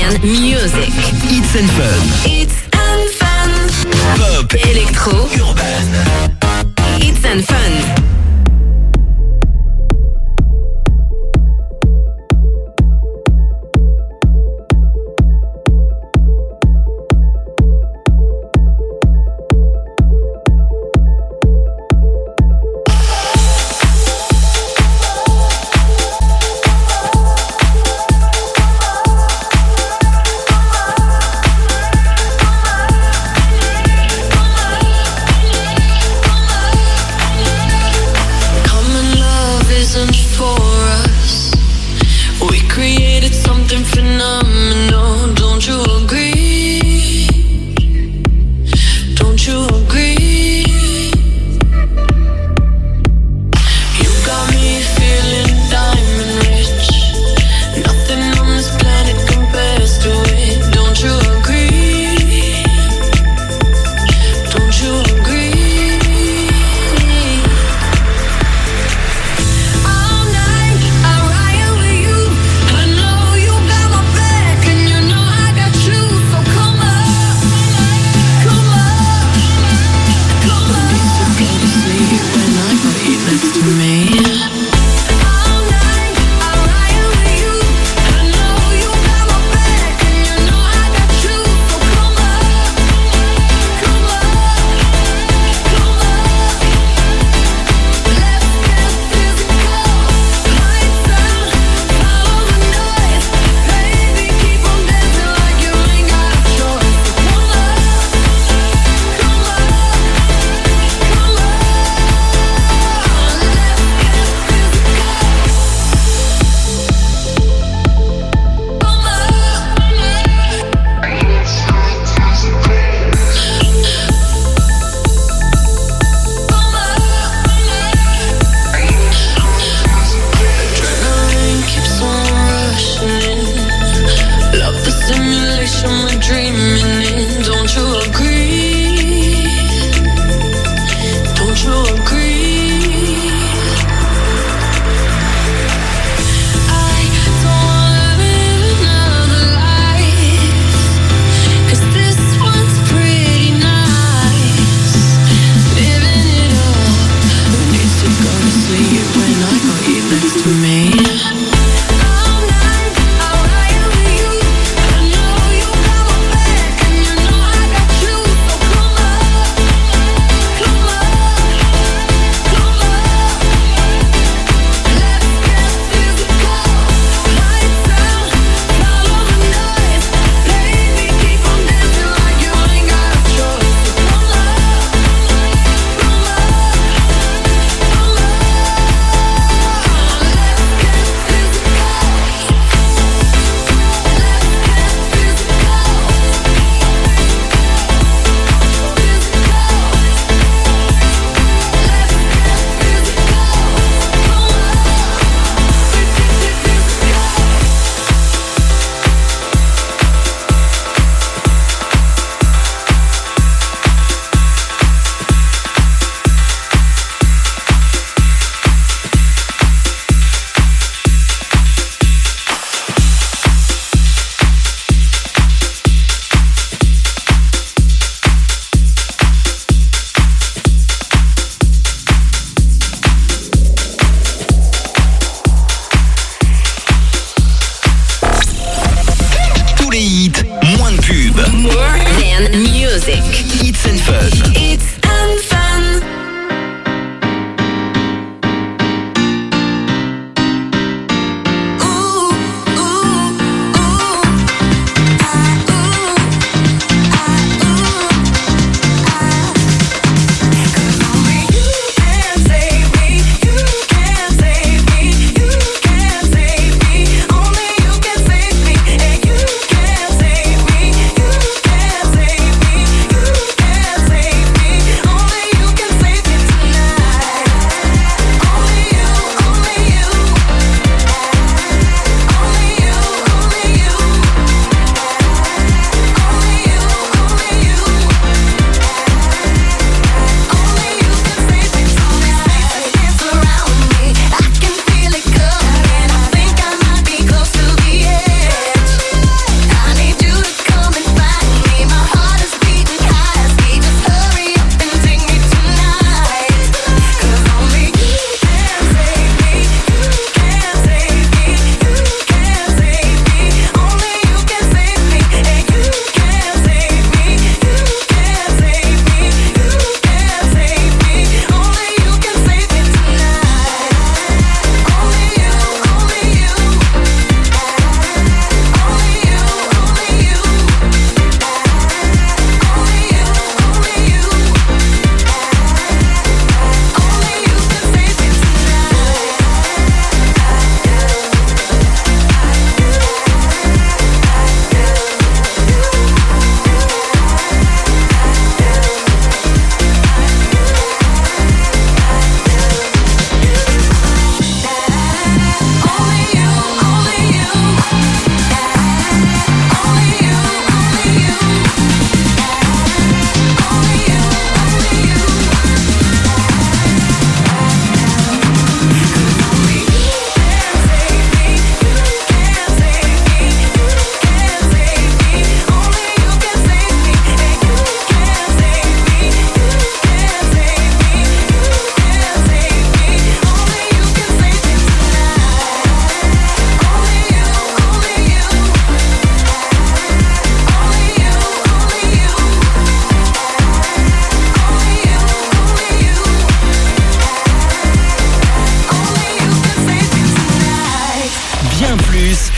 and music. It's and Fun. It's and Fun. Pop, Electro, urban. It's and Fun.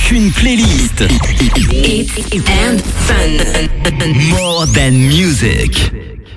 qu'une playlist. Hits and fun. More than music.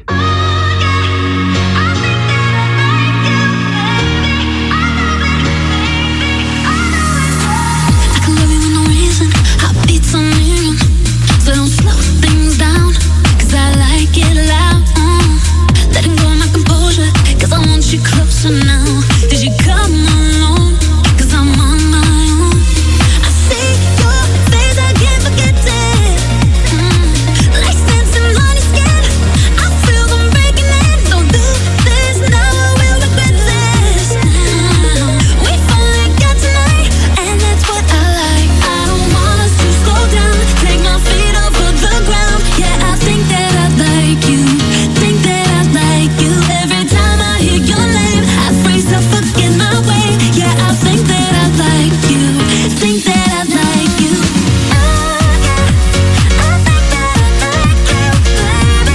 You closer now? Did you come along? 'Cause I'm on my own. I see your face, I can't forget it. Like dancing on your skin, I feel them breaking in. Don't do this now, I will regret this. We finally got tonight, and that's what I like. I don't want us to slow down, take my feet off of the ground. Yeah, I think that I like you, think that I like you. Every time I hear your name, I freeze up, forget my way. Yeah, I think that I like you, think that I like you. I think that I like you, baby.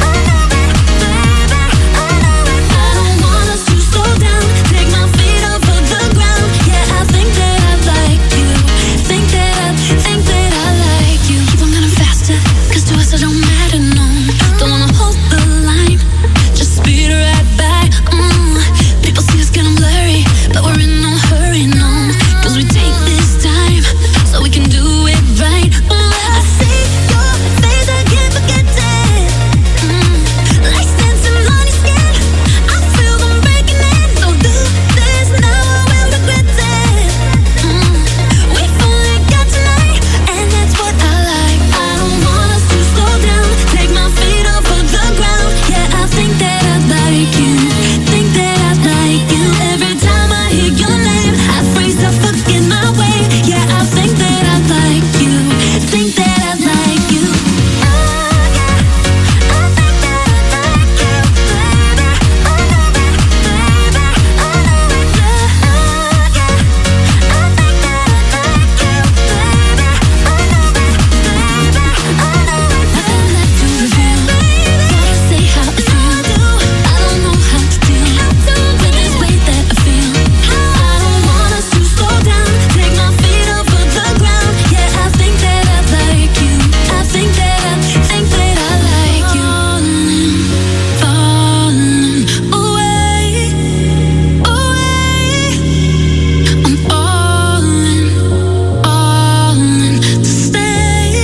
I don't want us to slow down, take my feet off of the ground. Yeah, I think that I like you, think that I like you. Keep on running faster, 'cause to us it don't matter, no. Don't wanna hold the line, just speed right by. People see us getting blurry, but we're in no hurry, no. 'Cause we take this time, so we can do it right. I see your face, I can't forget it. Like dancing on your skin, I feel them breaking in. Don't do this now, I will regret it. We finally got tonight, and that's what I like. I don't want us to slow down, take my feet off of the ground. Yeah, I think that I like you, think that I like you. Every time I hear your name, I freeze up, forget my way. Yeah, I think that I like you, think that I like you. I think that I like you, baby. I know it, baby. I know it, yeah. I think that I like you, baby. I know it, baby. I know it. Nothing left to reveal. Gotta say how I feel. I don't know how to deal with this weight that I feel. I don't want us to slow down, take my feet off of the ground. Yeah, I think that I like you, I think that I like you. Falling away, away. I'm falling to stay.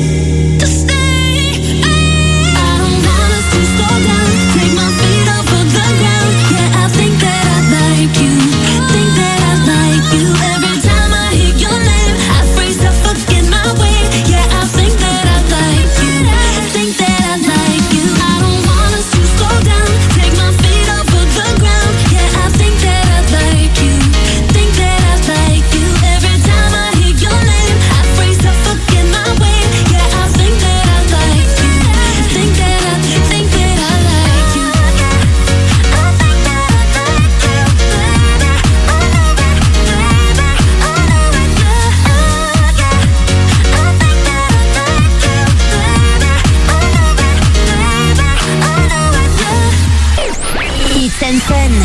I don't want us to slow down, take my feet off of the ground. Yeah, I think that I like you, think that I like you. Every time I hear your name, I freeze up, forget my way. Yeah, I think that I like you, think that I like you. I don't want us to slow down, take my feet off of the ground. Yeah, I think that I like you, think that I like you. Every time I hear your name, I freeze up, forget my way. Yeah, I think that I like you, think that I like you. I think that I like you, baby. I know it, baby. I know it, yeah. I think that I like you, baby. I know it, baby. I know it, yeah. Hits and fun.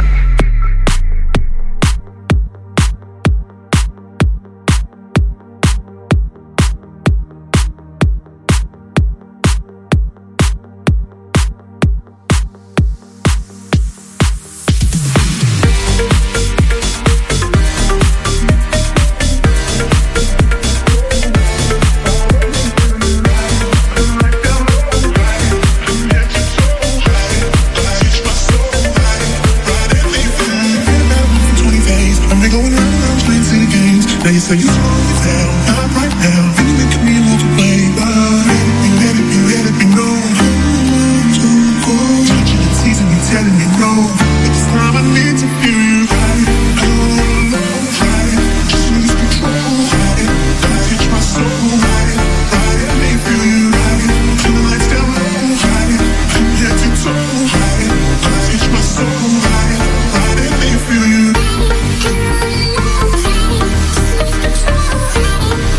Now you say you slow it down, not right now. And you making me walk away. Let it be known. Too cold. Touching and teasing you, telling me no. But this time I need to feel you right. I don't wanna know right. Just lose control right. Touch my soul right. Let me feel you right. Turn the lights down low right. I'm head to toe right. Touch my soul right. Let me feel you.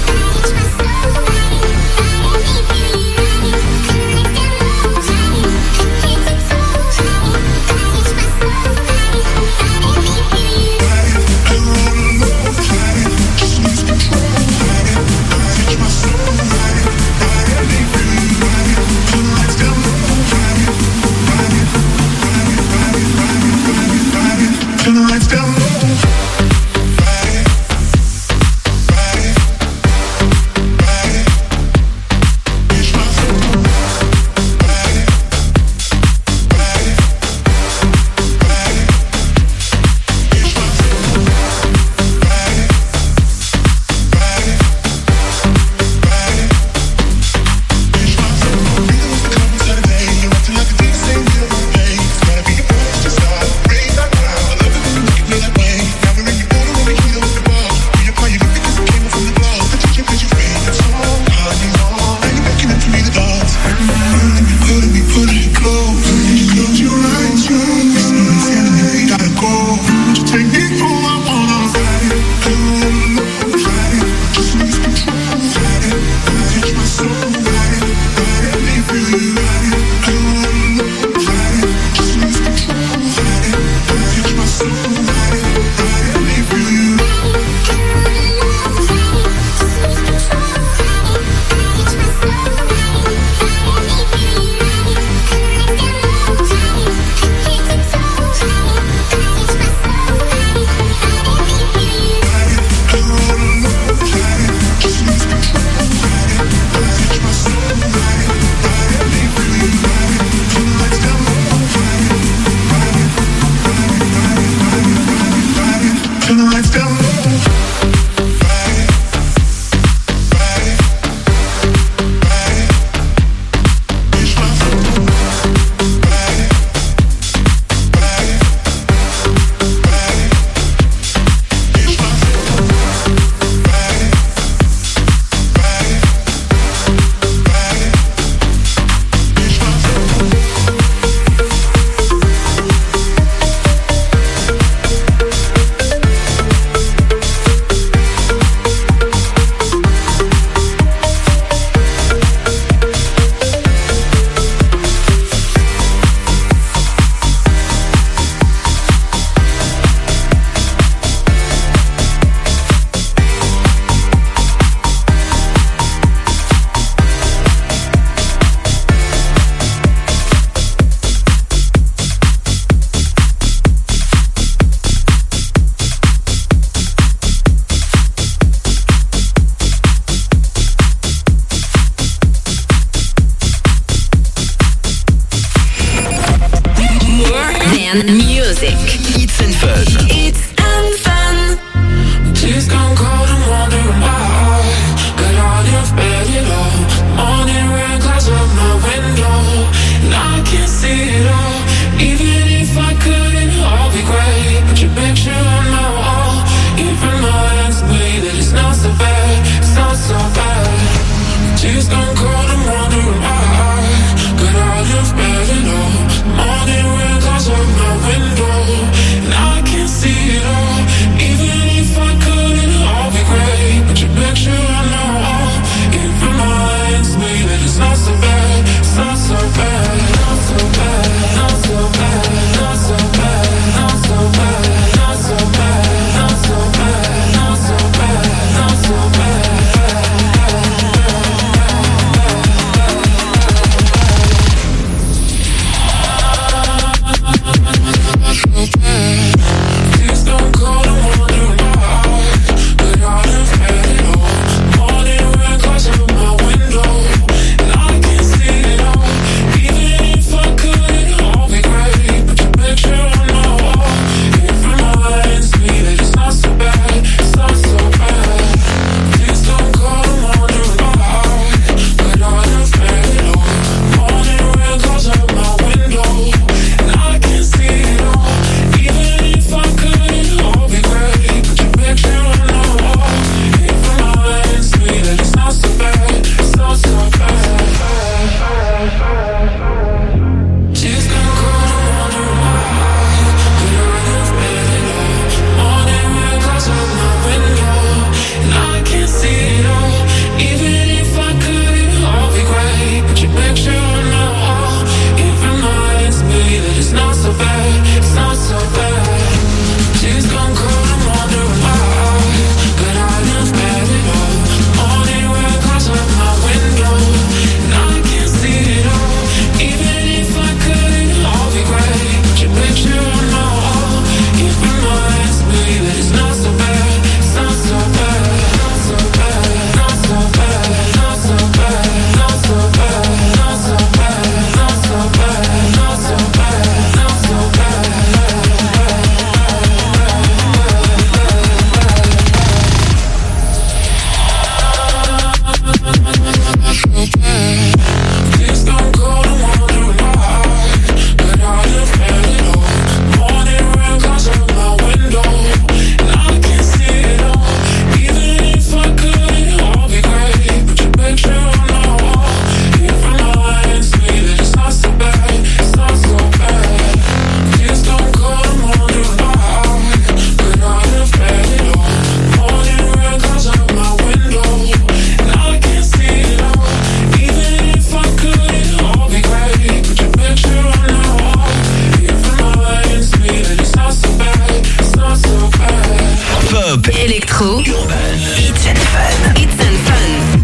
Electro. Urban. Hits and Fun. Hits and Fun.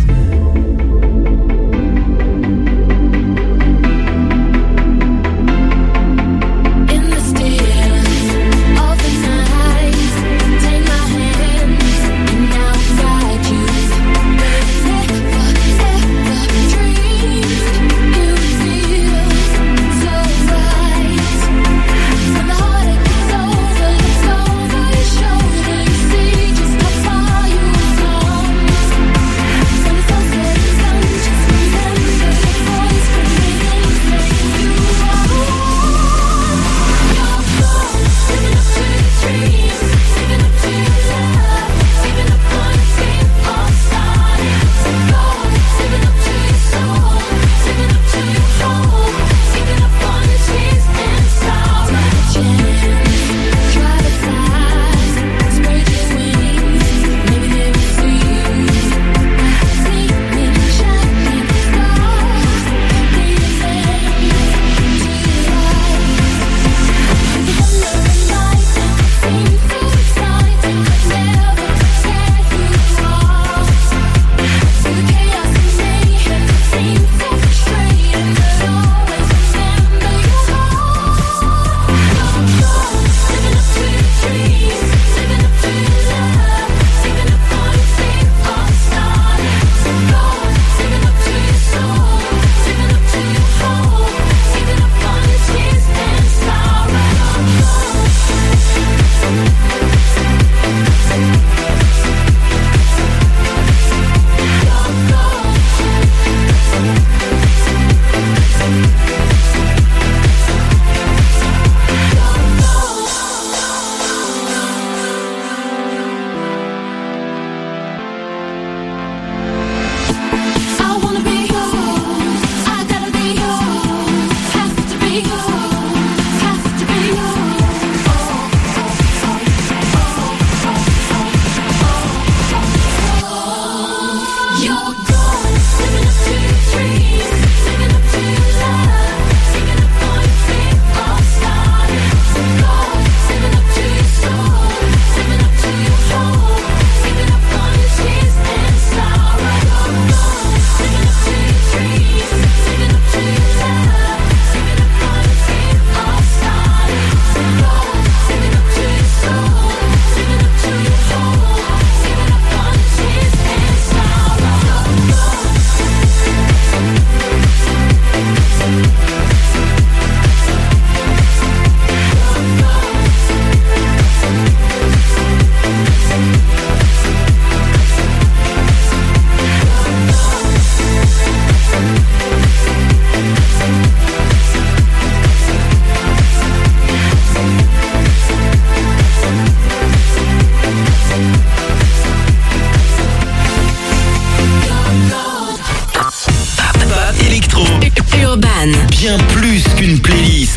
Bien plus qu'une playlist.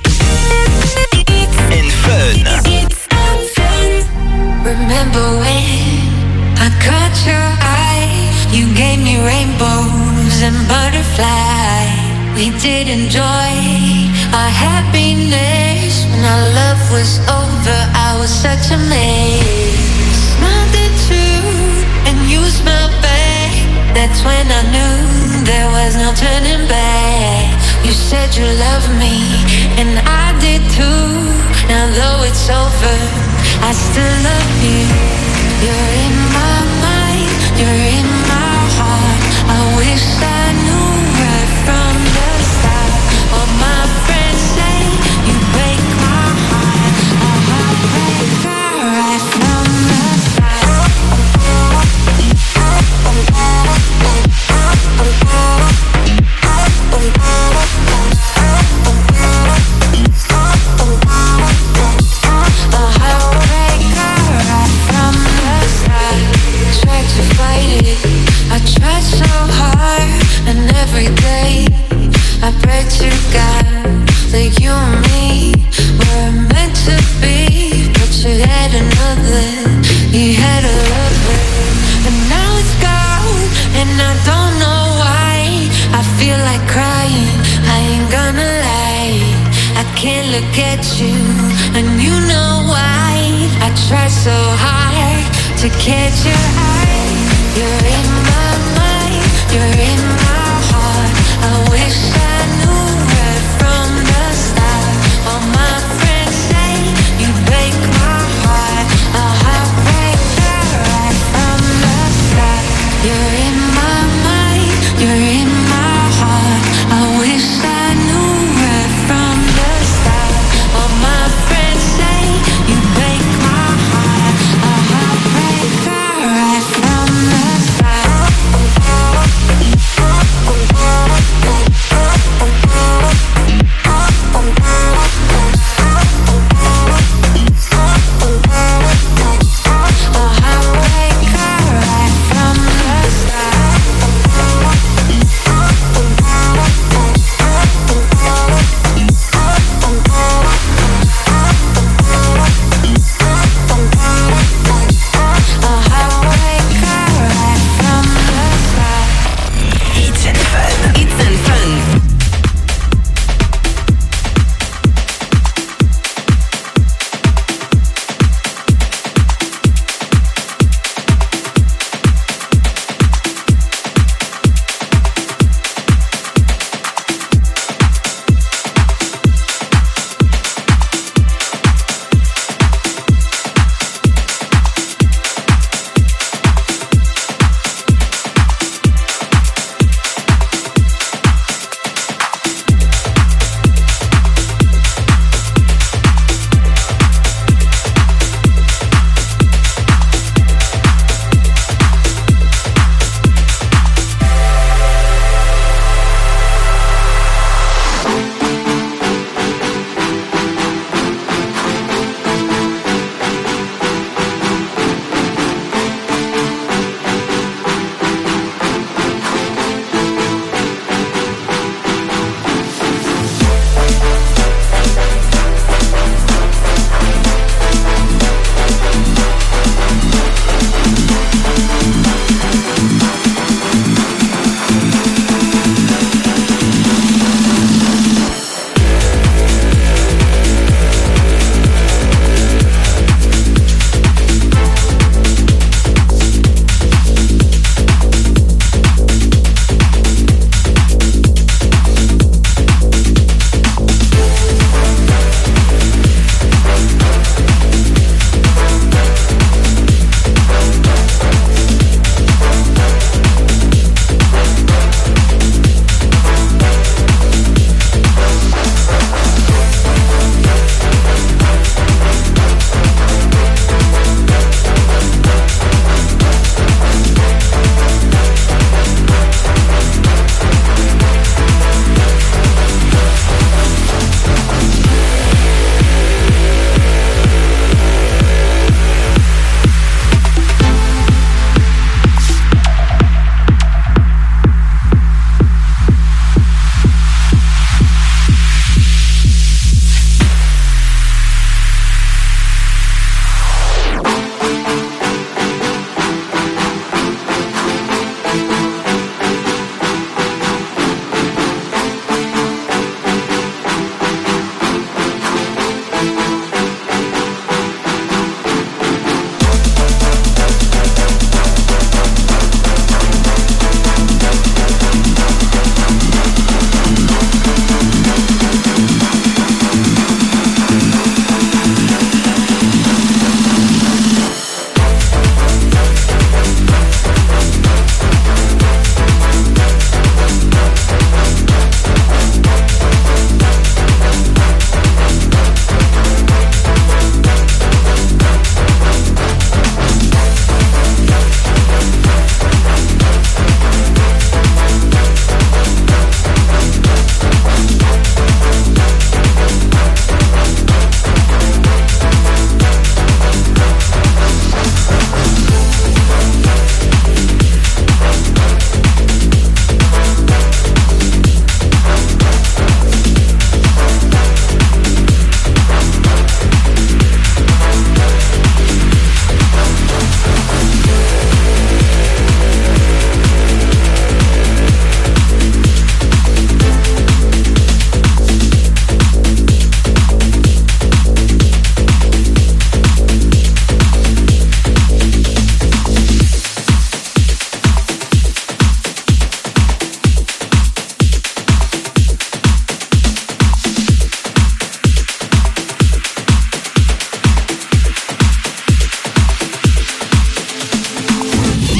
And Fun. Remember when I caught your eye? You gave me rainbows and butterflies. We did enjoy our happiness. When our love was over, I was such a mess. Smiled at you and you smiled back. That's when I knew there was no turning back. You said you loved me, and I did too. Now though it's over, I still love you. You're in my mind, you're in my heart. I wish I knew right from the start. All my friends say you break my heart. A heartbreaker right from the start. I tried so hard, and every day I pray to God that you and me were meant to be. But you had another, you had a lover, and now it's gone, and I don't know why. I feel like crying, I ain't gonna lie. I can't look at you, and you know why. I tried so hard to catch your eye. You're in my mind, you're in my heart. I wish I knew right from the start. All my friends say you break my heart. A heartbreaker right from the start. You're in my mind, you're in my heart. I wish I knew right from the start. All my friends say you break my heart. A heartbreaker right from the start.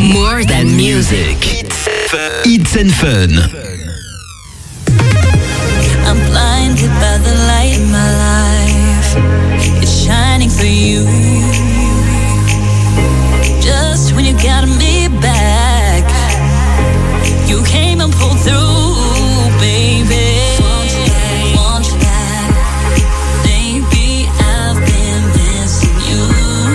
More than music. Hits and Fun. I'm blinded by the light in my life. It's shining for you. Just when you got me back, you came and pulled through, baby. Want you back. Baby, I've been missing you.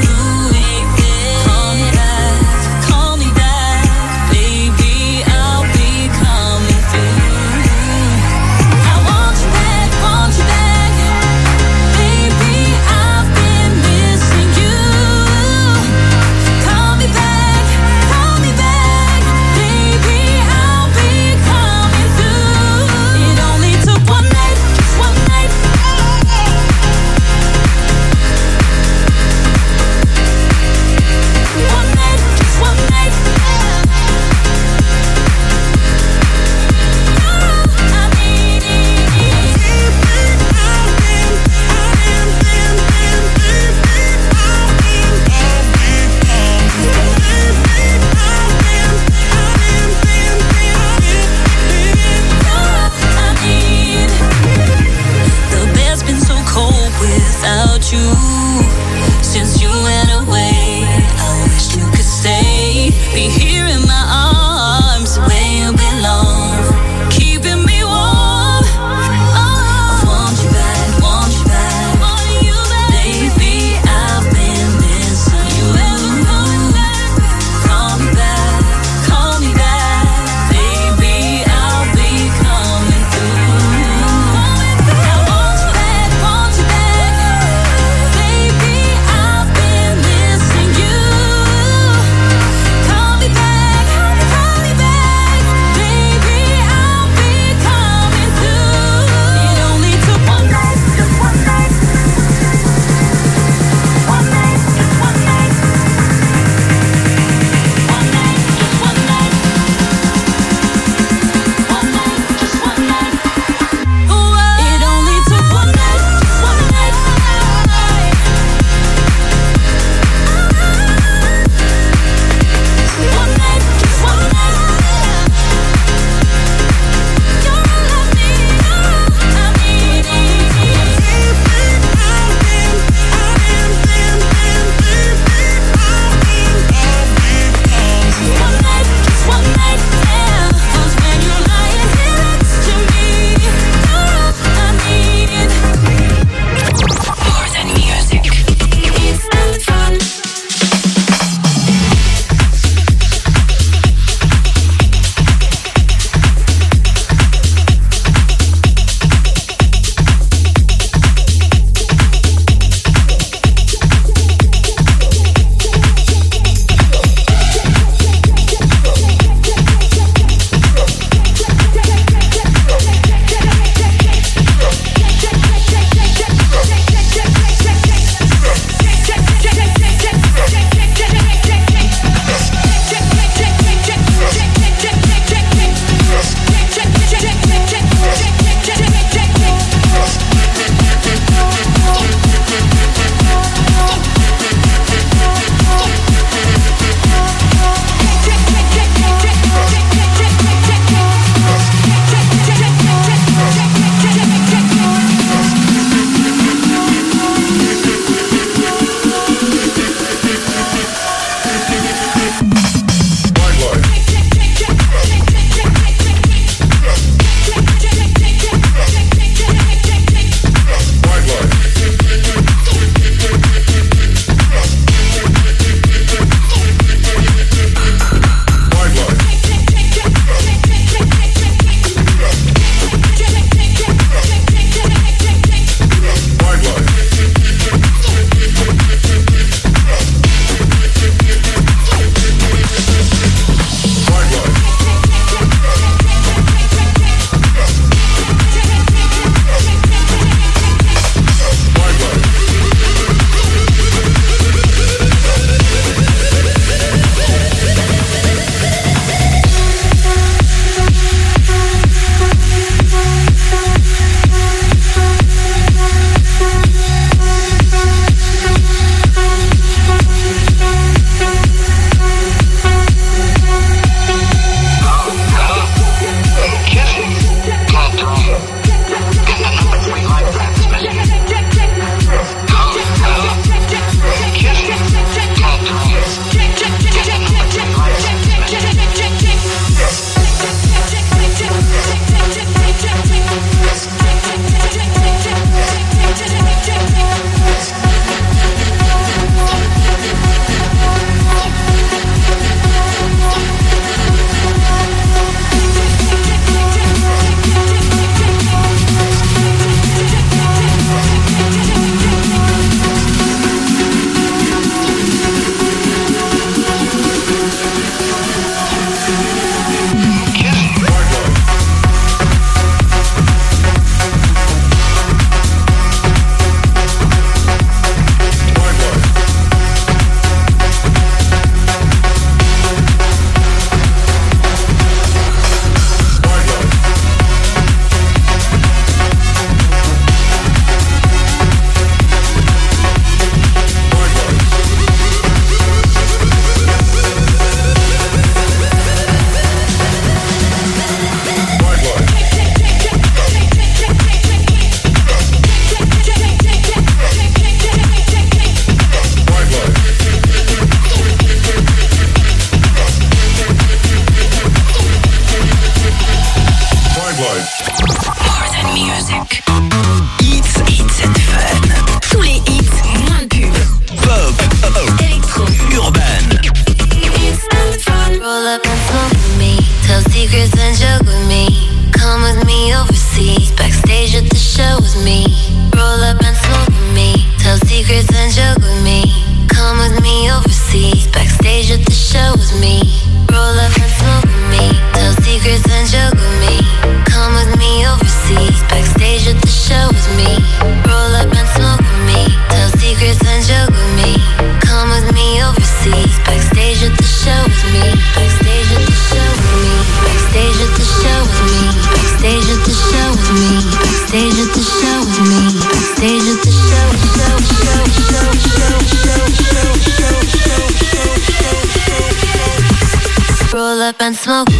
Call me back, baby, I'll be coming through. I want you back, baby, I've been missing you. Call me back, baby, I'll be coming through. It only took one night, just one night. One night, just one night. I need the bed's been so cold without you. Since you went away, I wish you could stay. Be here in my arms where you belong, keeping me warm. I want you back, want you back, baby, I've been missing you. Call me back, baby, I'll be coming through. I want you back, baby, I've been missing you. Call me back, baby, I'll be coming through. It only took one night, just one night. One night, just one night. One night, just one night. One night, just one night. It only took one night, just one night. One night, just one night. You're all I need. I need one night, just one night. Yeah, 'cause when you're lying here next to me, you're all I need. More than music. It's and fun. Roll up and smoke with me, tell secrets and joke with me. Come with me overseas, backstage at the show with me. Roll up and smoke with me, tell secrets and joke with me. Come with me overseas, backstage at the show with me. Roll up and smoke with me, tell secrets and joke with me. Come with me overseas, backstage at the show with me. Roll up and smoke with me, tell secrets and joke with me. Come with me overseas, backstage at the show with me. Backstage at the show with me. Backstage at the show with me. Backstage at the show with me. Backstage at the show with me. Backstage at the show. Roll up and smoke.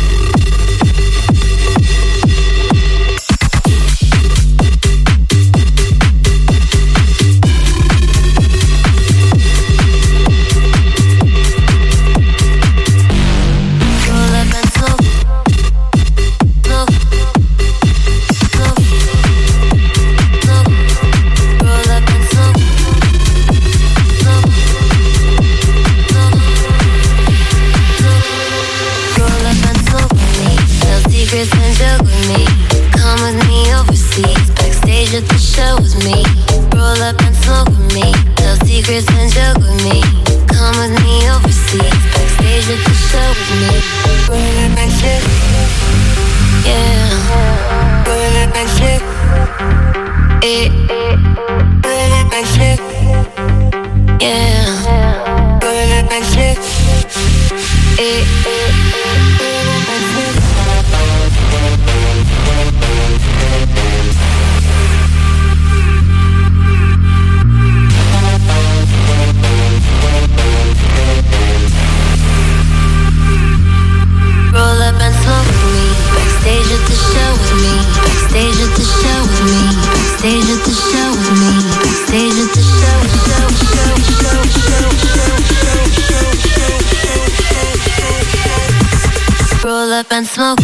And smoke.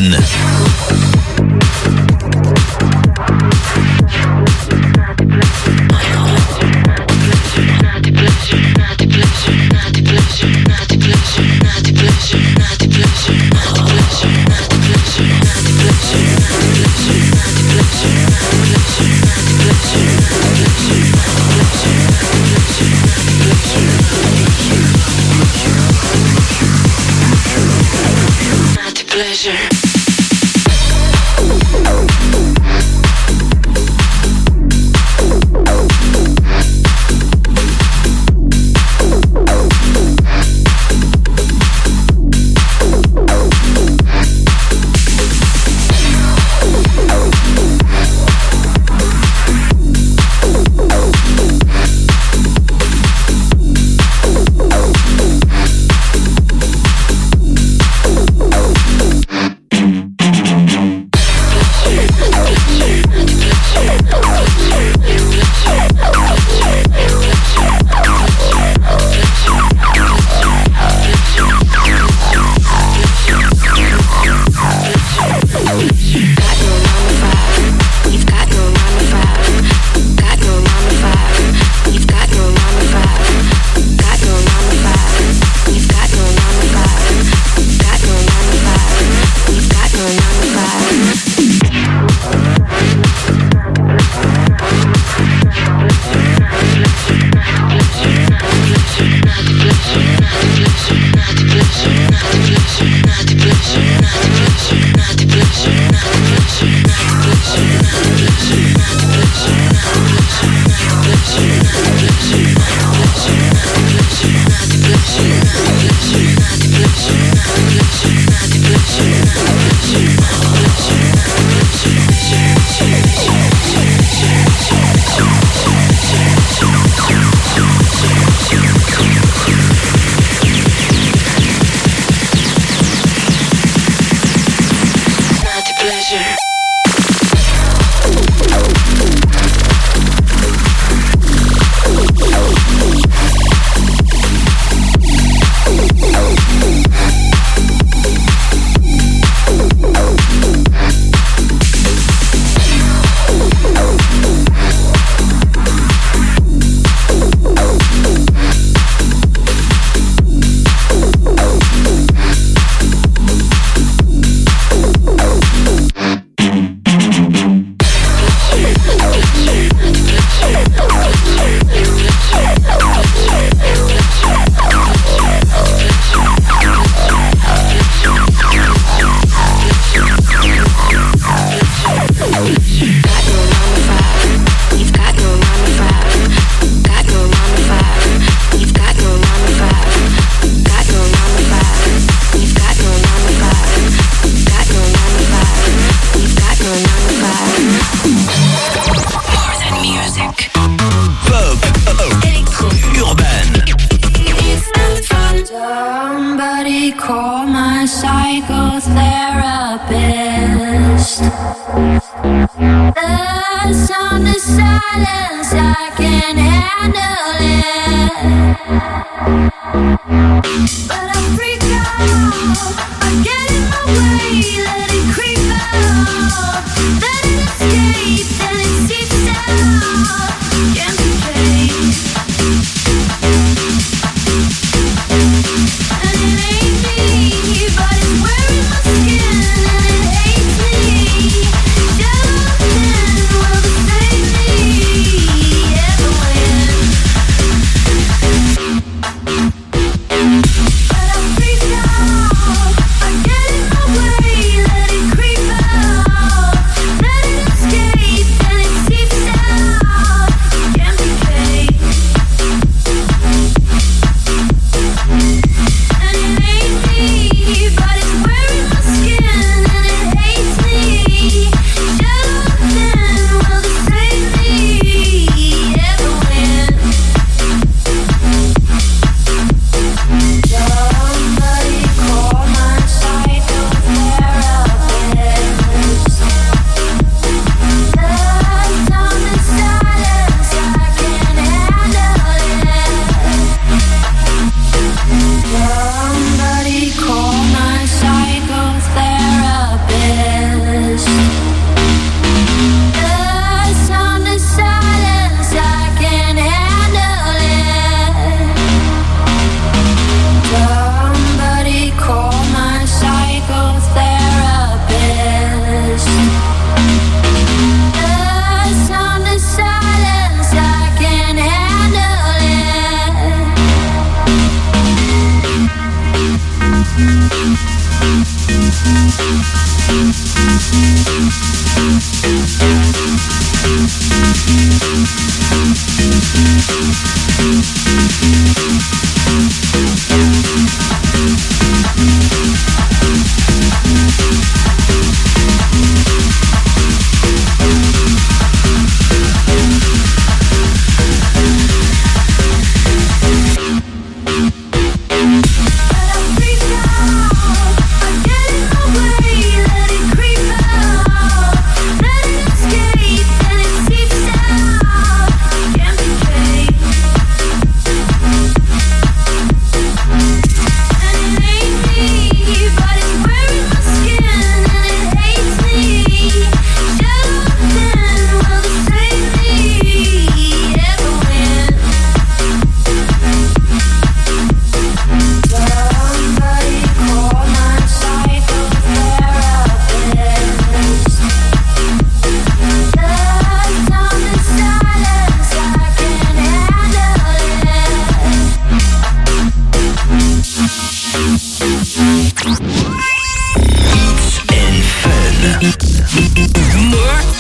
Urban. Pleasure.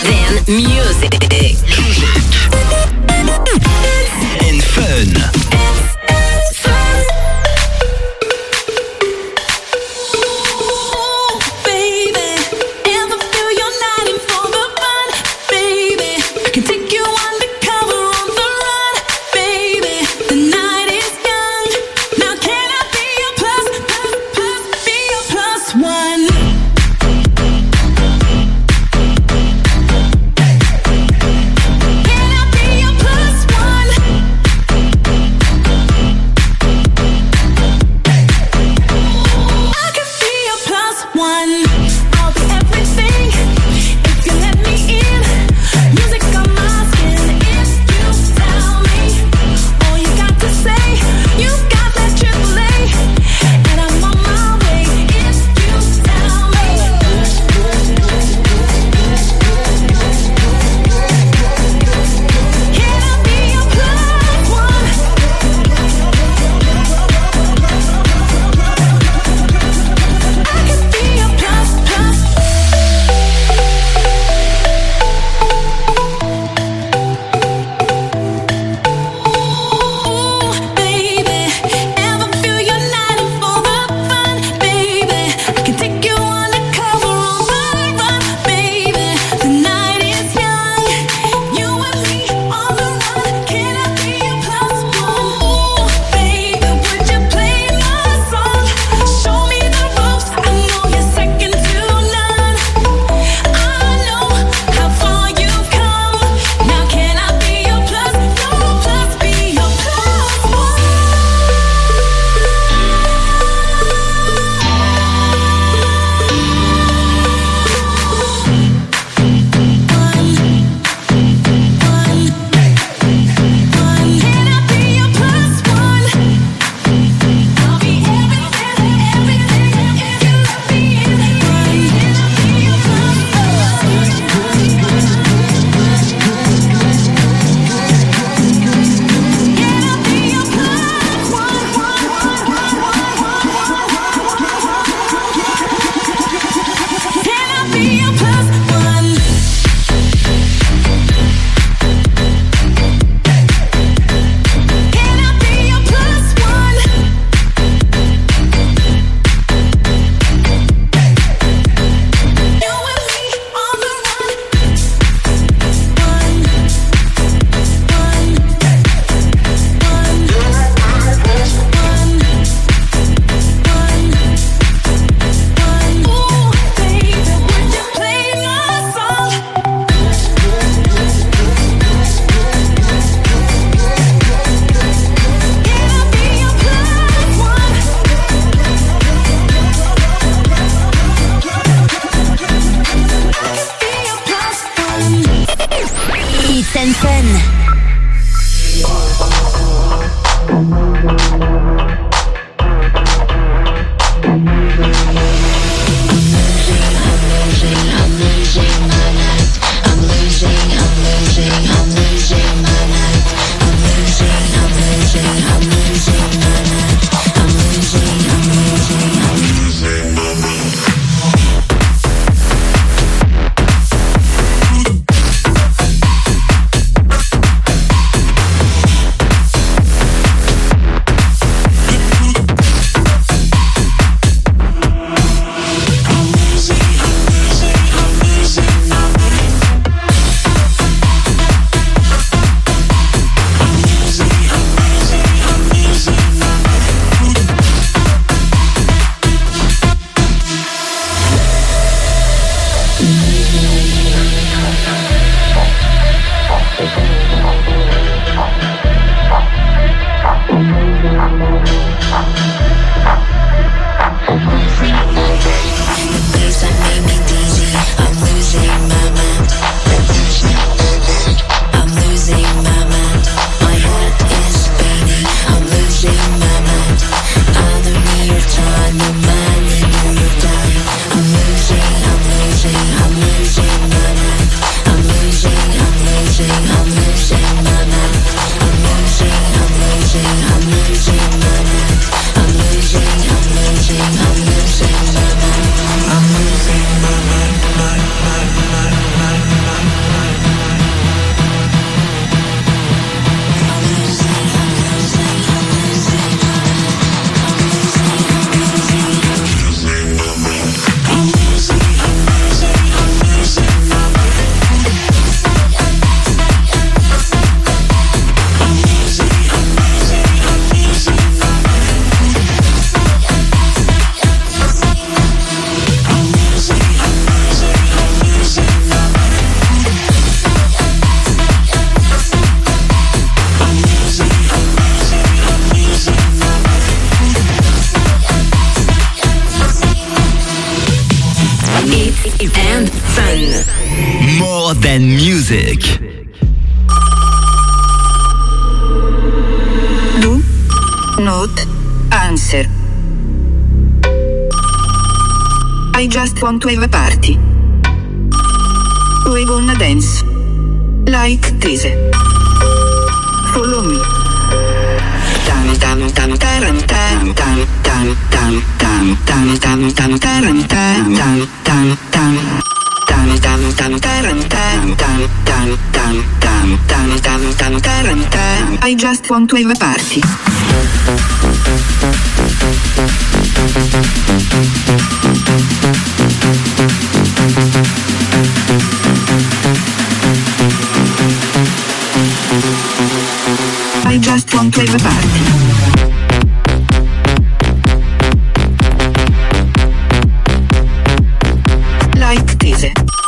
Then music. And fun. I'm losing hits and fun. More than music. Do not answer. I just want to have a party. We gonna dance like this. Follow me. Tam tam tam taram tam tam tam tam tam tam tam tam taram tam tam tam tam tam tam tam taram tam tam tam tam tam tam tam tam taram tam. I just want to have a party. I just want to have a party. Like this.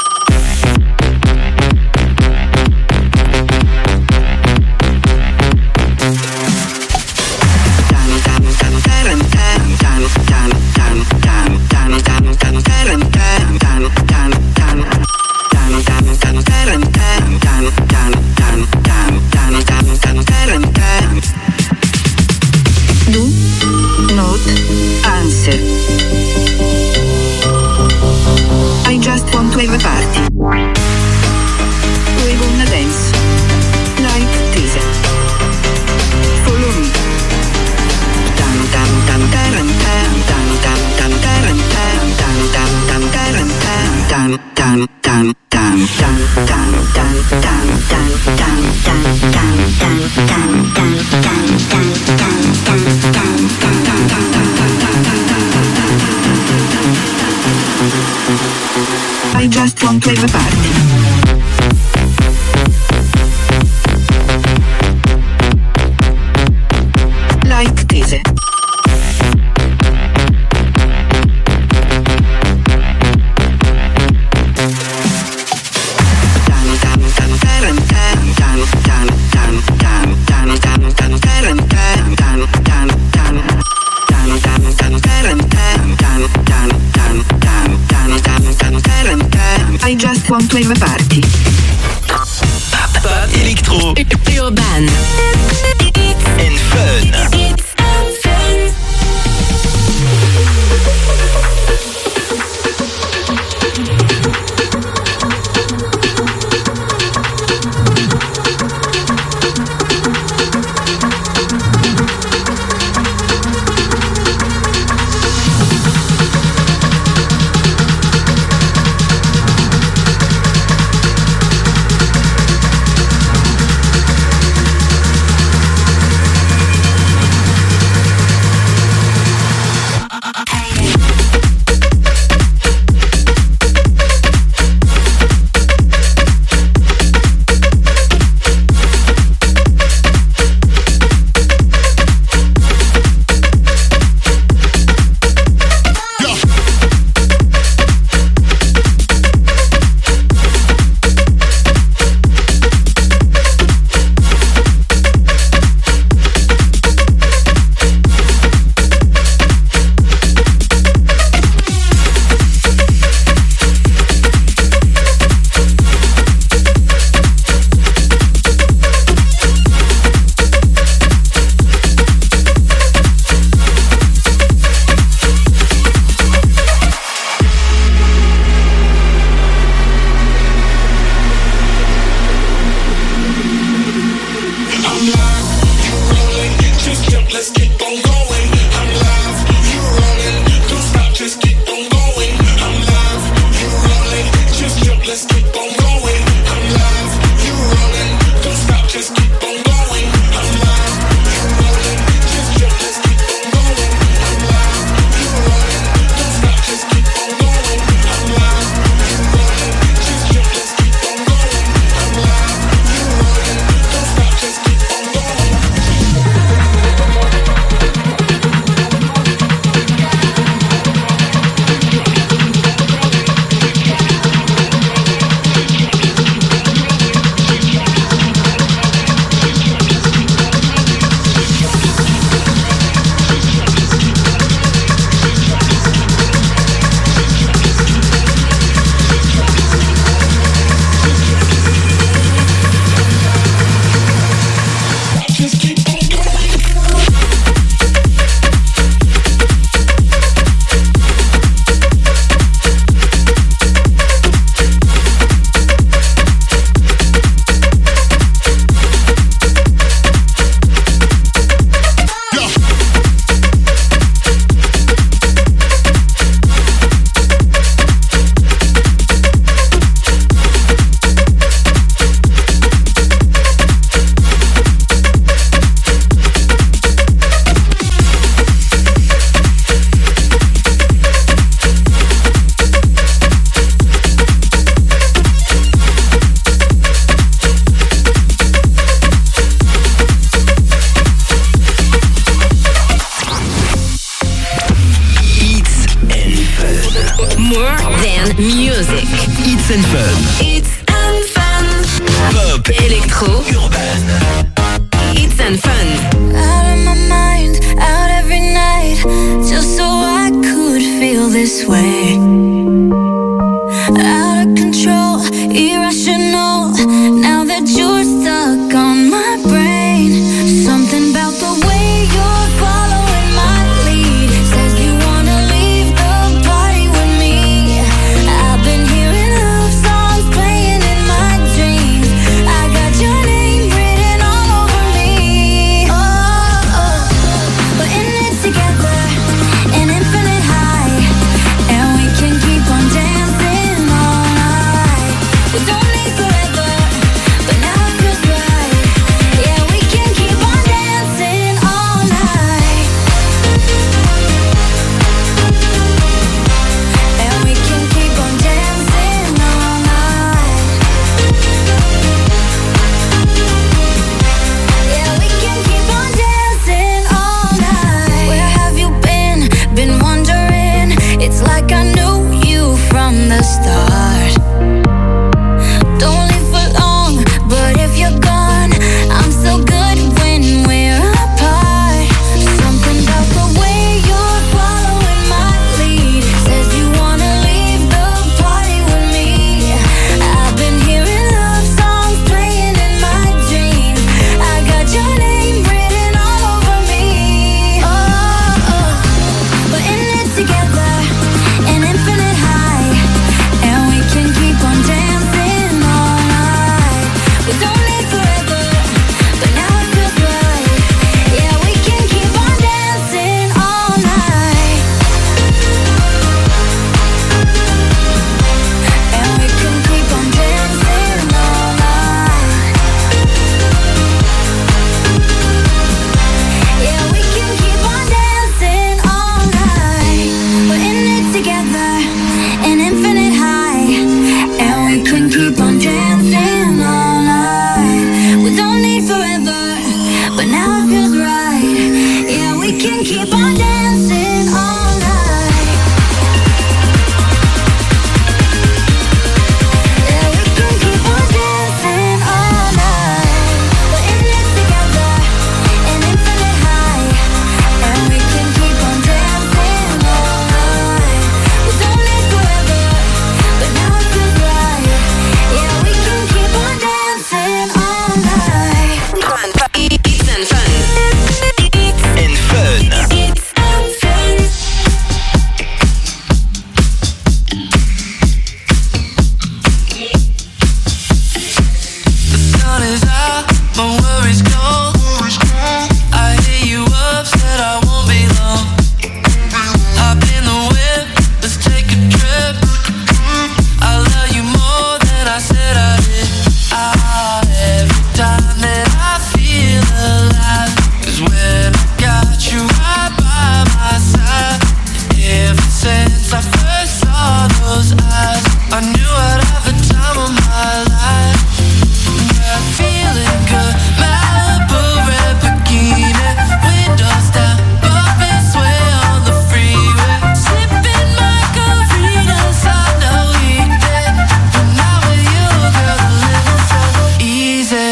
I just want to have a party. We gonna dance like this. Follow me. Tam tam tam taram tam tam tam tam taram tam tam tam tam taram tam tam tam tam tam tam tam tam tam tam tam tam tam tam tam I just want to have a party. Like this. I just want to have a party. Pop, électro, Urban. and fun. music. Hits and Fun. Hits and fun. Pop. Electro. Urban. Hits and fun. Out of my mind, out every night, just so I could feel this way. Out of control, irrational, now that you're stuck on my brain. Something about the way you're following my lead says you wanna leave the party with me. I've been hearing love songs playing in my dreams. I got your name written all over me. Oh, we're in it together, an infinite high, and we can keep on dancing all night. We don't need forever, but now it feels right. Yeah, we can keep on dancing all night. And we can keep on dancing all night. Yeah, we can keep on dancing all night. Where have you been? Been wondering. It's like I knew you from the start. Don't leave for long, but if you're gone, I'm so good when we're apart. Something about the way you're following my lead says you wanna leave the party with me. I've been hearing love songs playing in my dreams. I got your name written all over me. Oh, we're in it together, an infinite high, and we can keep on dancing all night. We don't need forever, but now it feels right. Yeah, we can keep on dancing all night. And we can keep on dancing all night. Yeah, we can keep on dancing all night. We're in it together, an infinite high, and we can keep on dancing all night. We don't need forever, but now it feels right. Yeah, we can keep on dancing all night. Yeah, we can keep on dancing all night. We're in it together, an infinite high, and we can keep on dancing all night. We don't need forever, but now it feels right. Yeah, we can keep on dancing all night. Hits and fun. And Fun. Hits and fun. Sun is out, my worries gone. I hear you upset, I won't be long. Hop in the whip, let's take a trip. I love you more than I said I did. Every time that I feel alive, 'cause when I got you right by my side, ever since I first saw those eyes, I knew I'd have the time of my life. We're feeling good, Malibu red bikini, windows down, bumping sway on the freeway, sipping margaritas on the weekday. But now with you, girl, the living's so easy.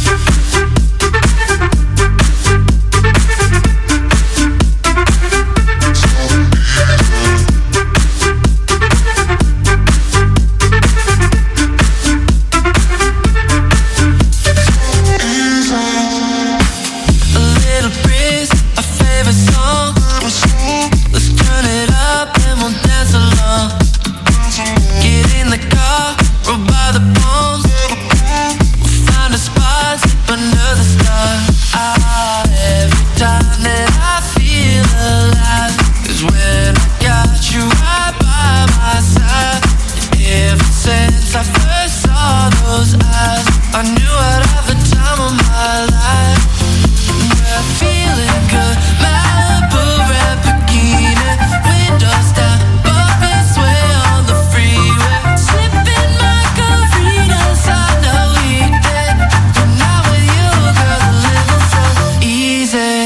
A little breeze, a favorite song. Let's turn it up and we'll dance along. Get in the car, roll by the palms. We'll find a spot, sleep under the stars. Every time that I feel alive, 'cause when I got you right by my side, ever since I first saw those eyes, I knew I'd have the time of my life. We're feeling good, Malibu red bikini, windows down, bumping sway on the freeway, sipping margaritas on the weekday. But now with you, girl, the living's so easy.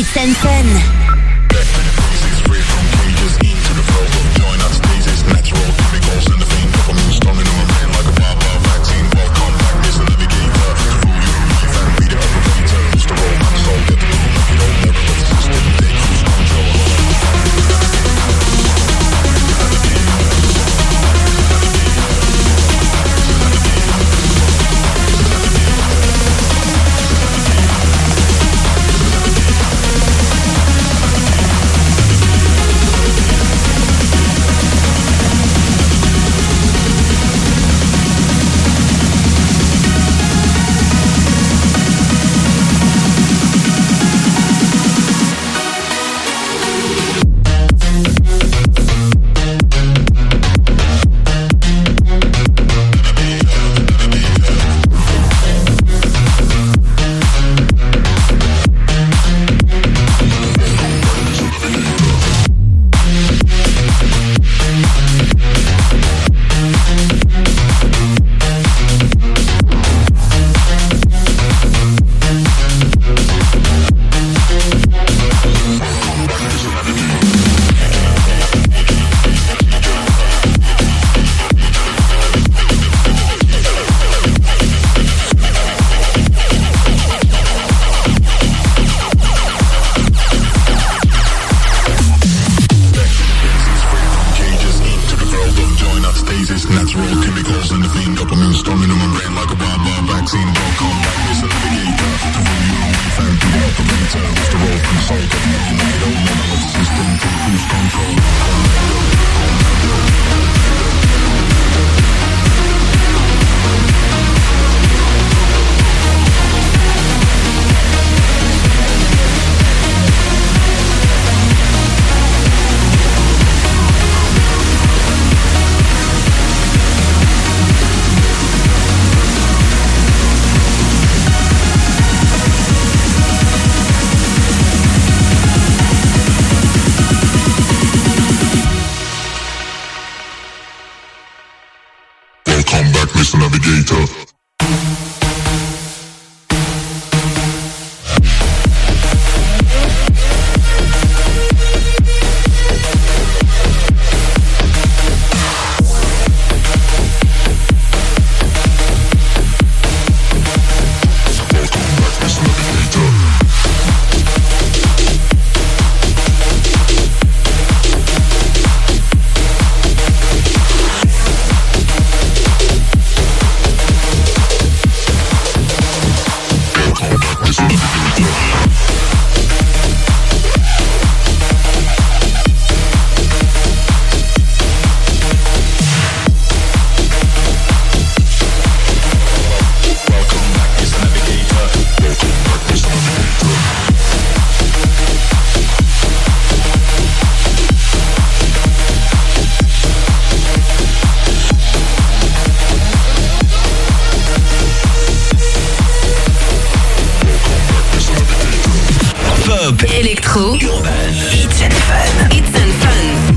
It's and Fun. Electro, Urban, It's and Fun. It's and Fun.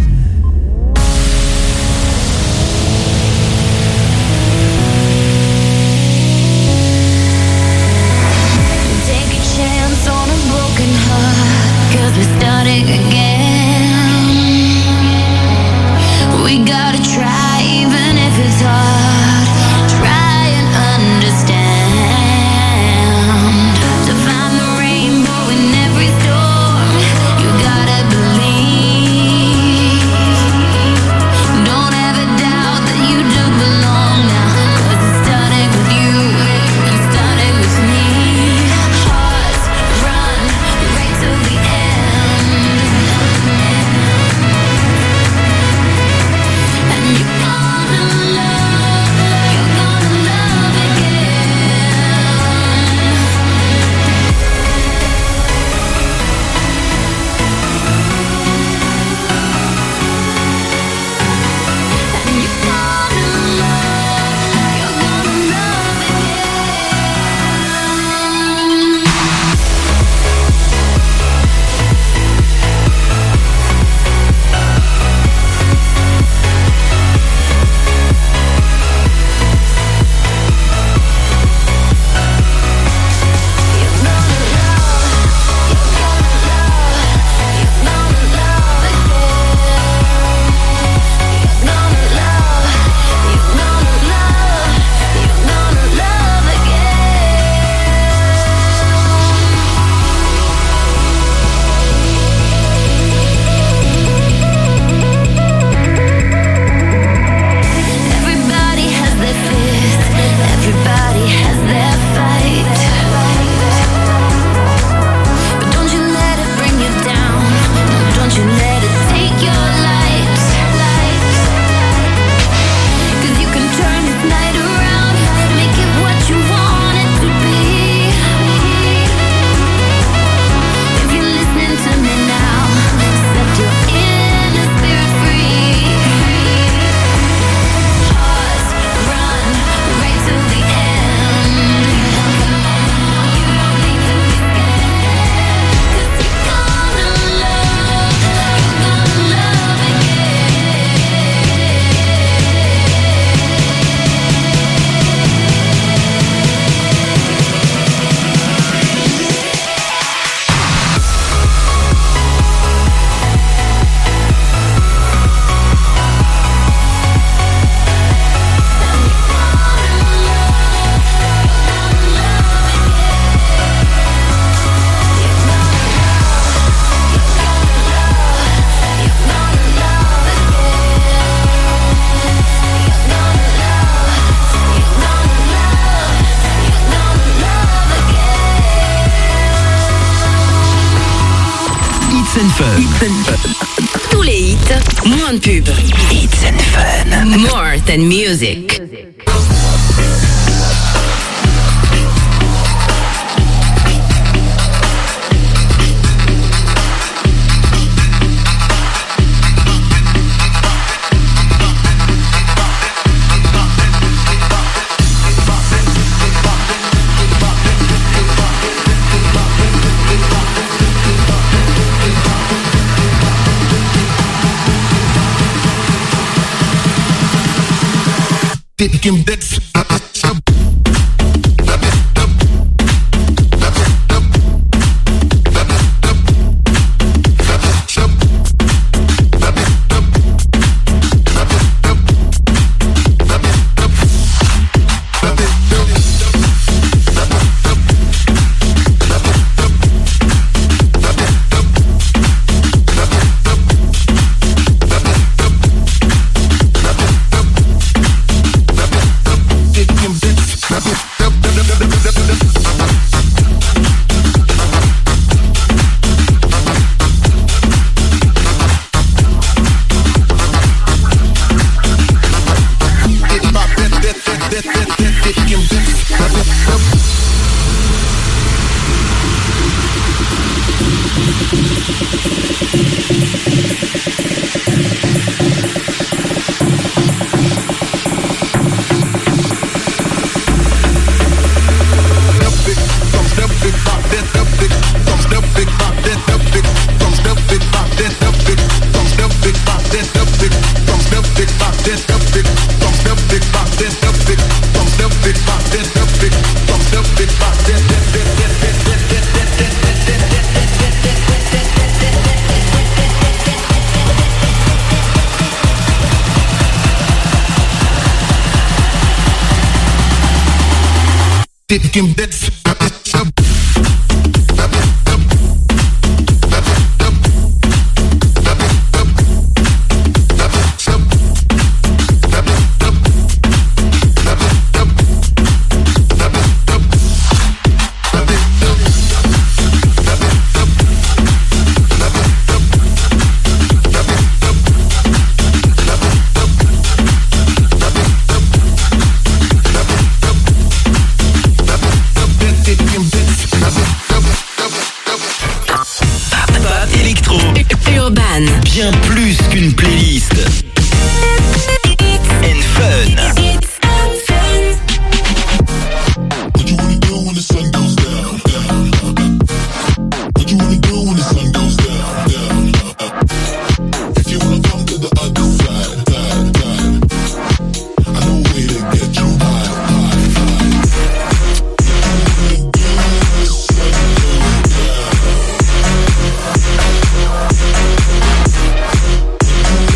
Take a chance on a broken heart, 'cause we're starting again. We gotta try even if it's hard. Try and understand. To find the rainbow in every storm, you gotta believe. It's and Fun. Tous les hits, moins de pub. It's and Fun. More than music. Taking bits. Taking bits. Bien plus qu'une playlist. And Fun. What you wanna do when the sun goes down? What you wanna do when the sun goes down? If you wanna come to the other side, I know a way to get you high. What you wanna do when the sun goes down?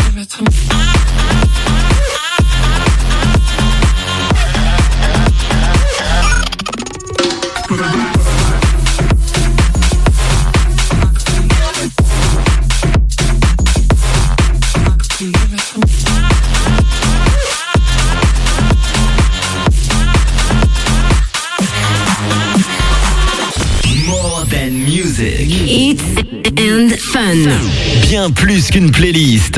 Hits and Fun. Bien plus qu'une playlist.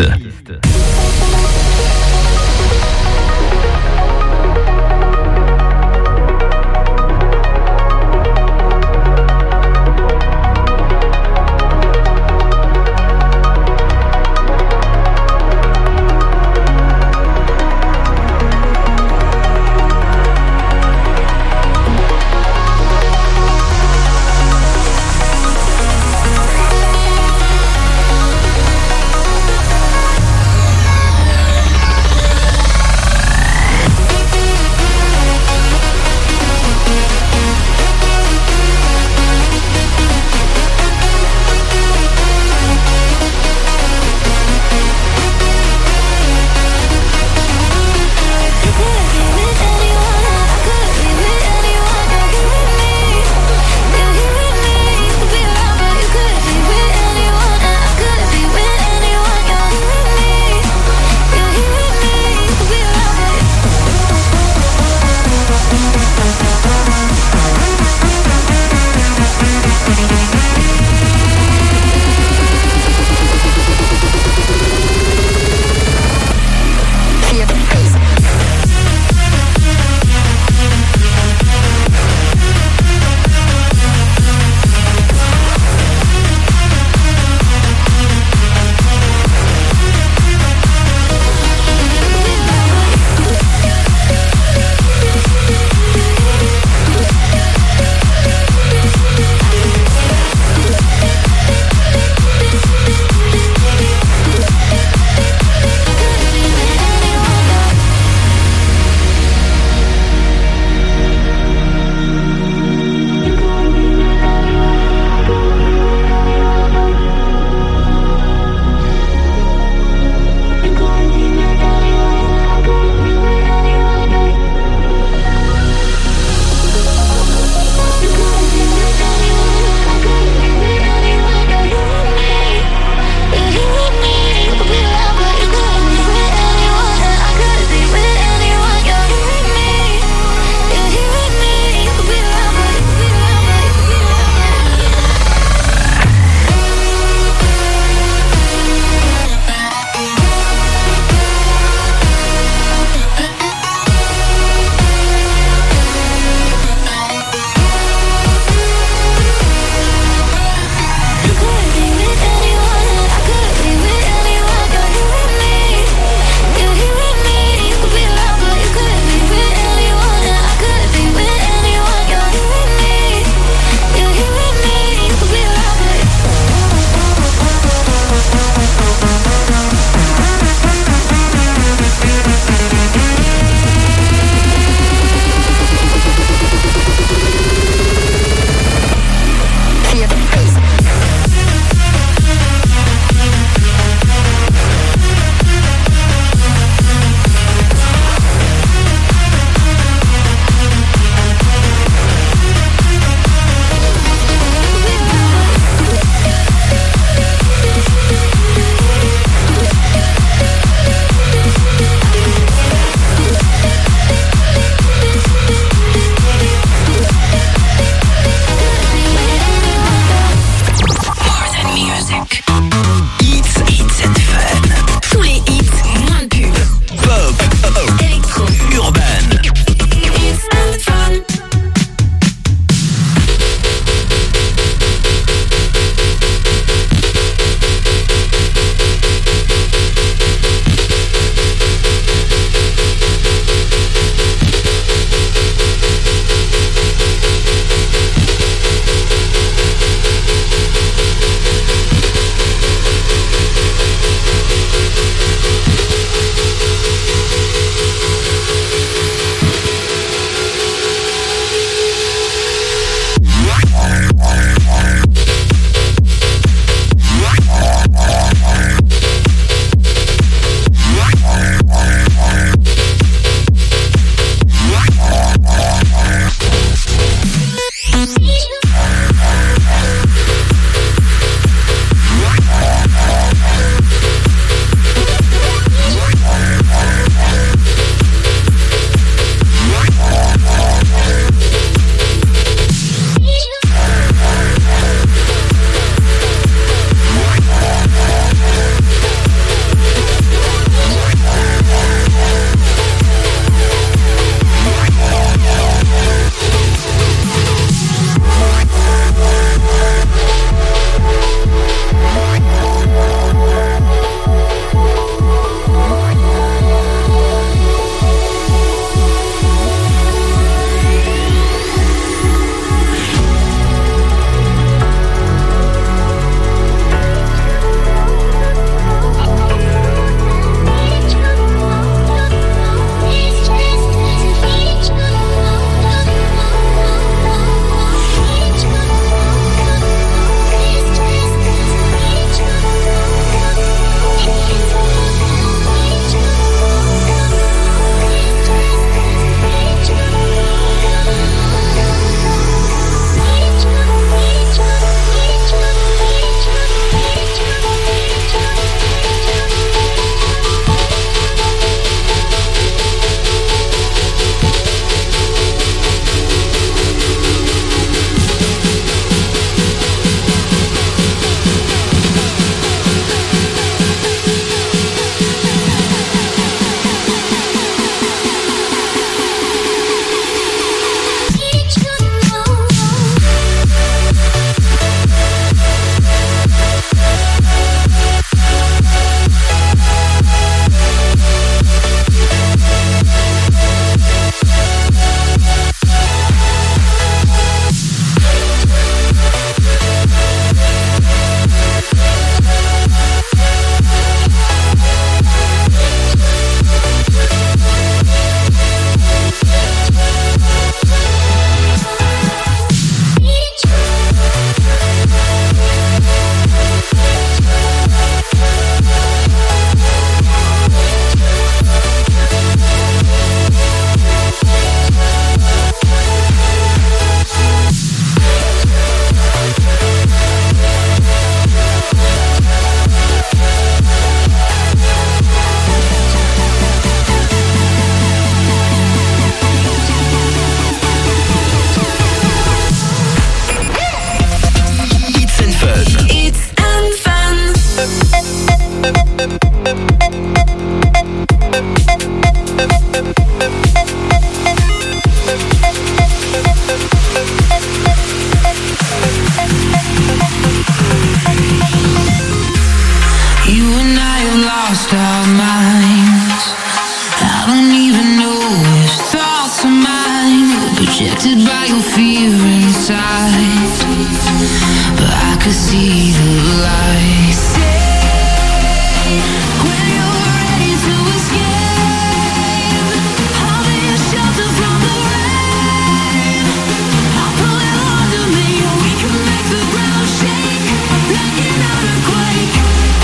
inside, but I could see the light. Say when you're ready to escape, I'll be a shelter from the rain. I'll pull you under me, and we can make the ground shake like an earthquake.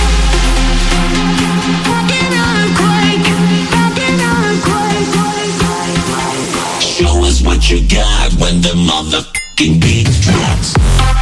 Like an earthquake, like an earthquake. Show us what you got when the motherfucking beat drops.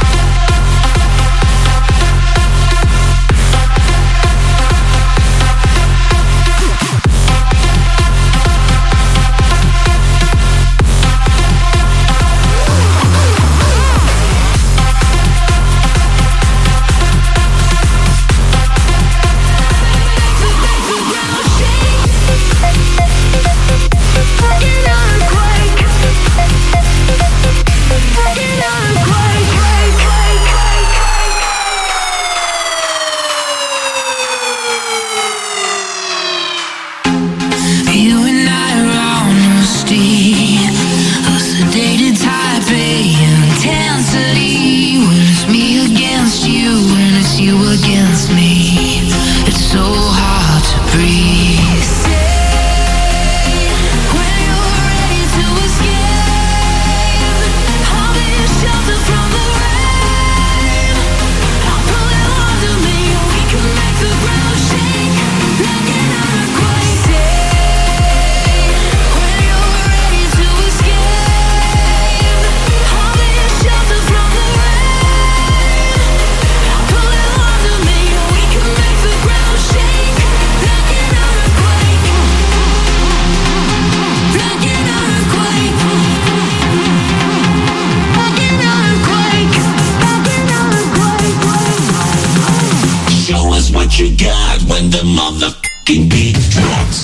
You got when the motherfucking beat drops.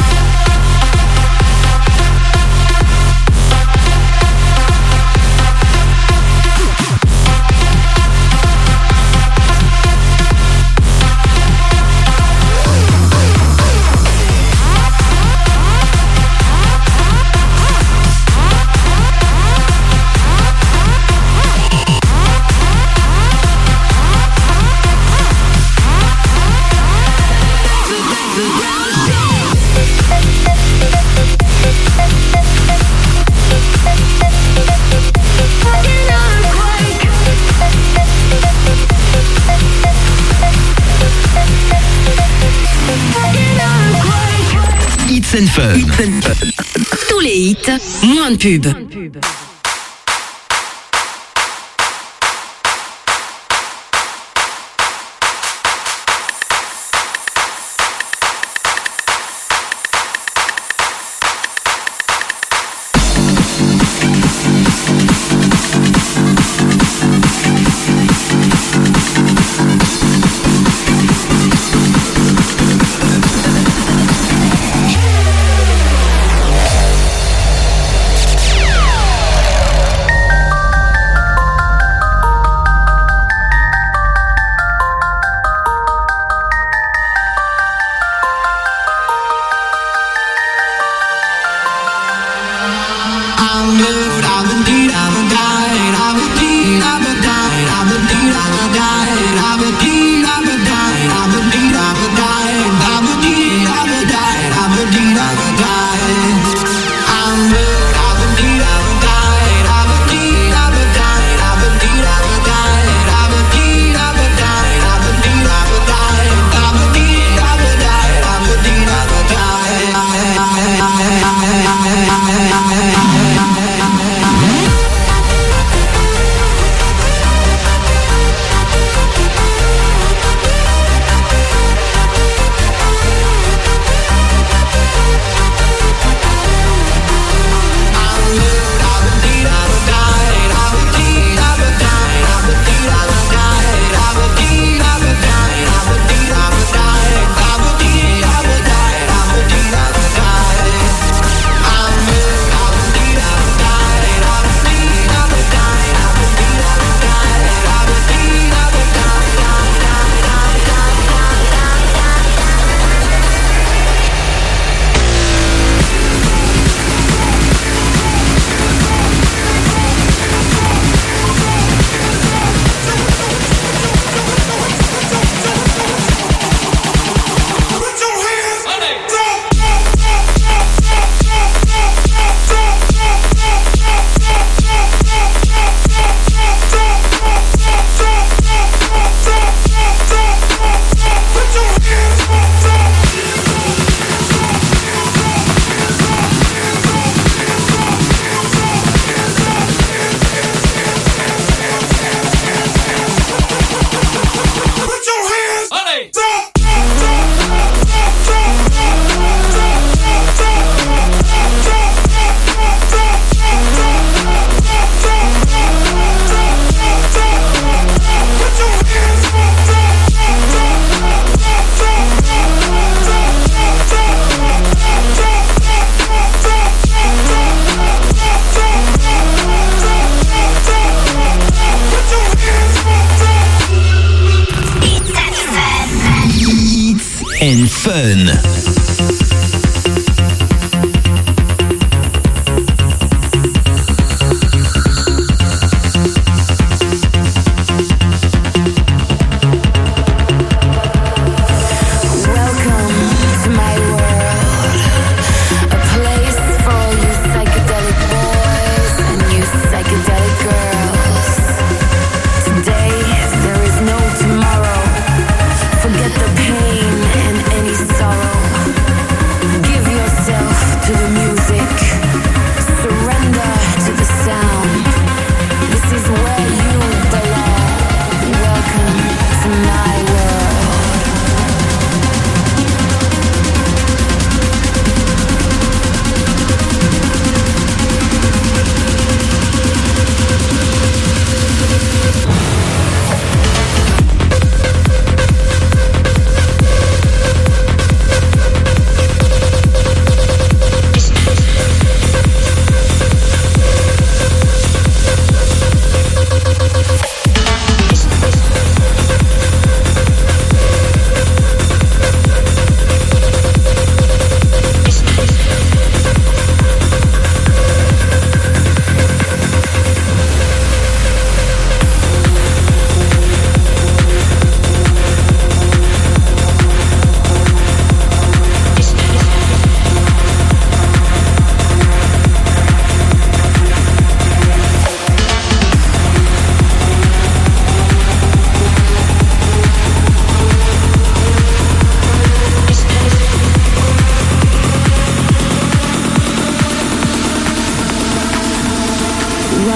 Hits and Fun. Tous les hits, moins de pub.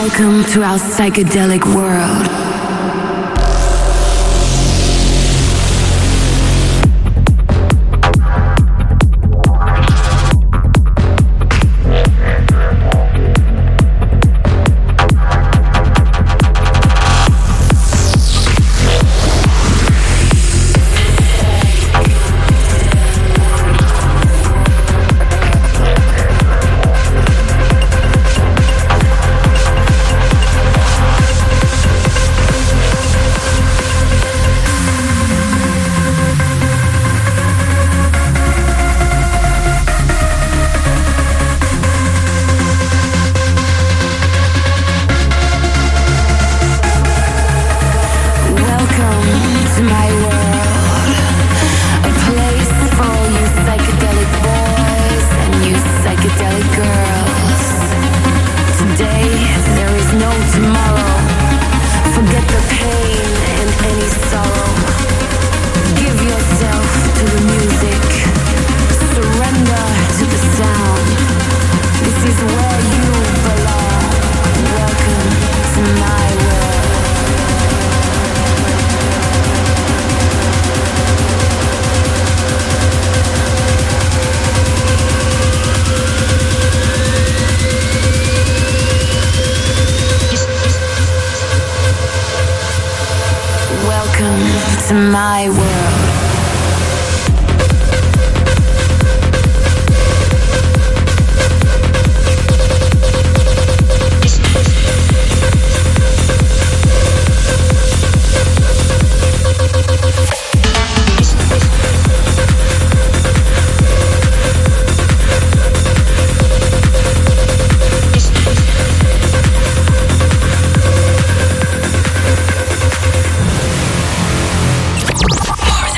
Welcome to our psychedelic world. To my world. More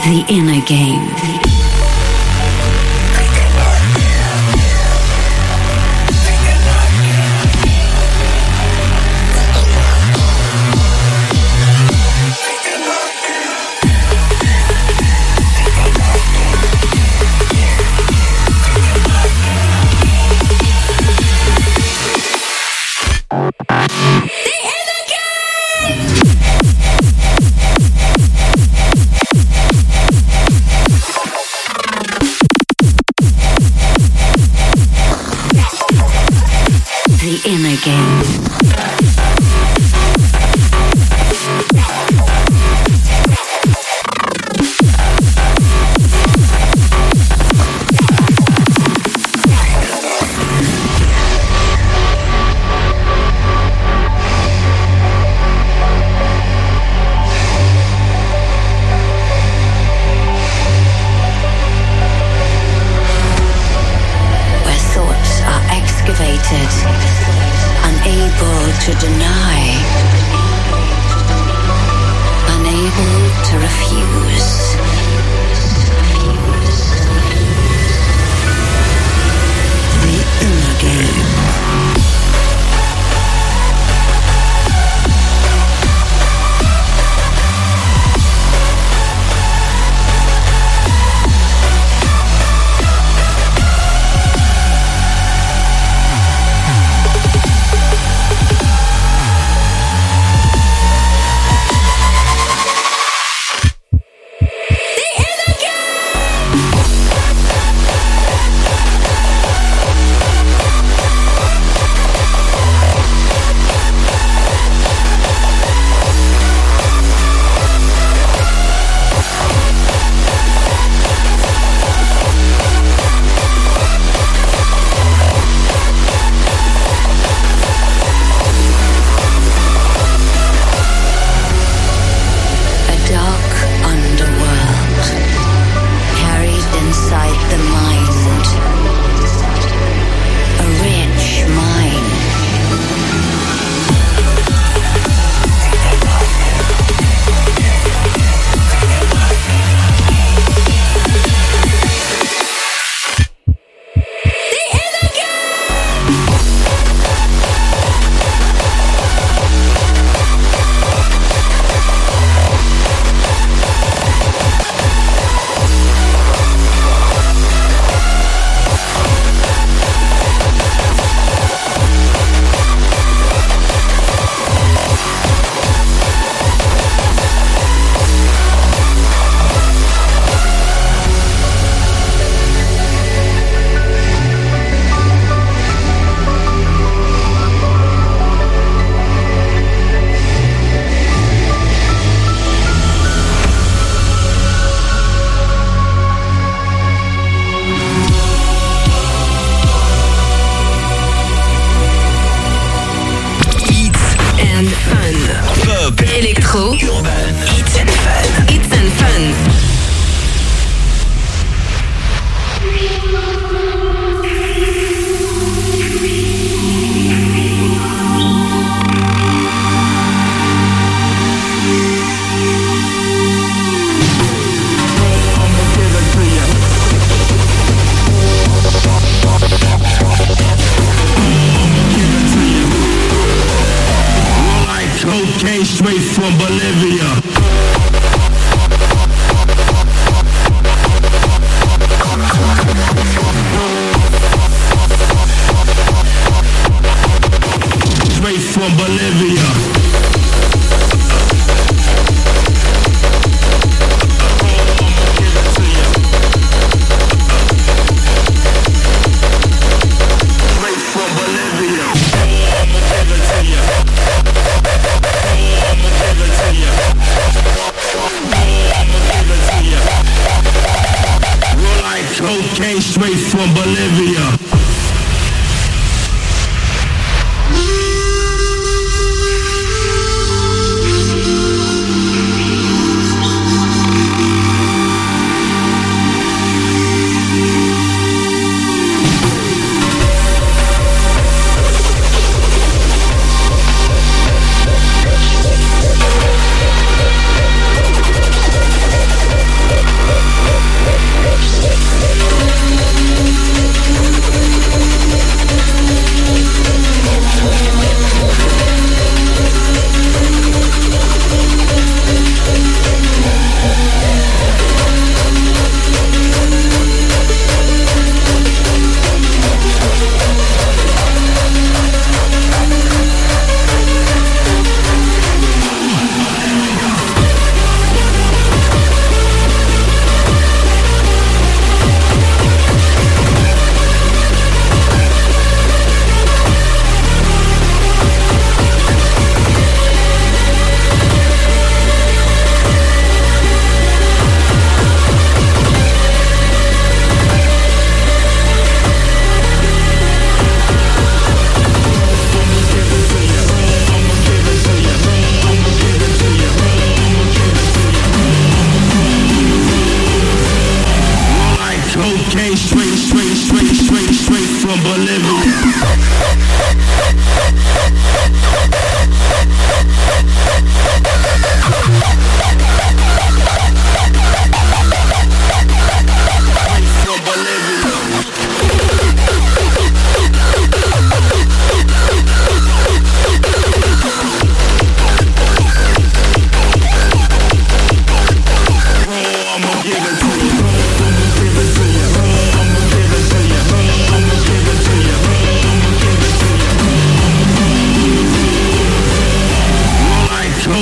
The Inner Game.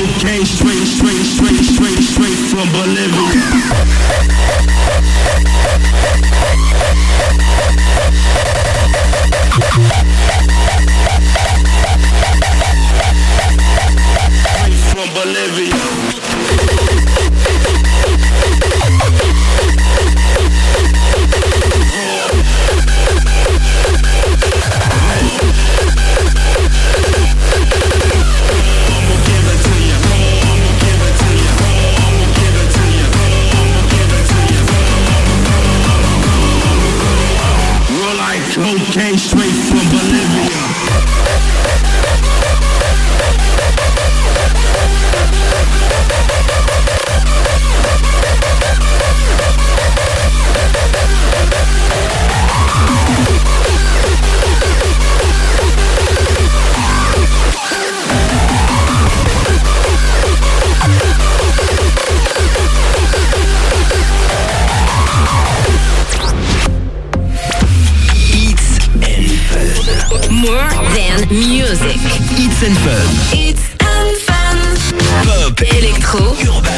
cocaine straight from Bolivia. From Bolivia. Cocaine straight from Bolivia. More than music. It's and Fun. It's and Fun. Pop, Electro, urbain.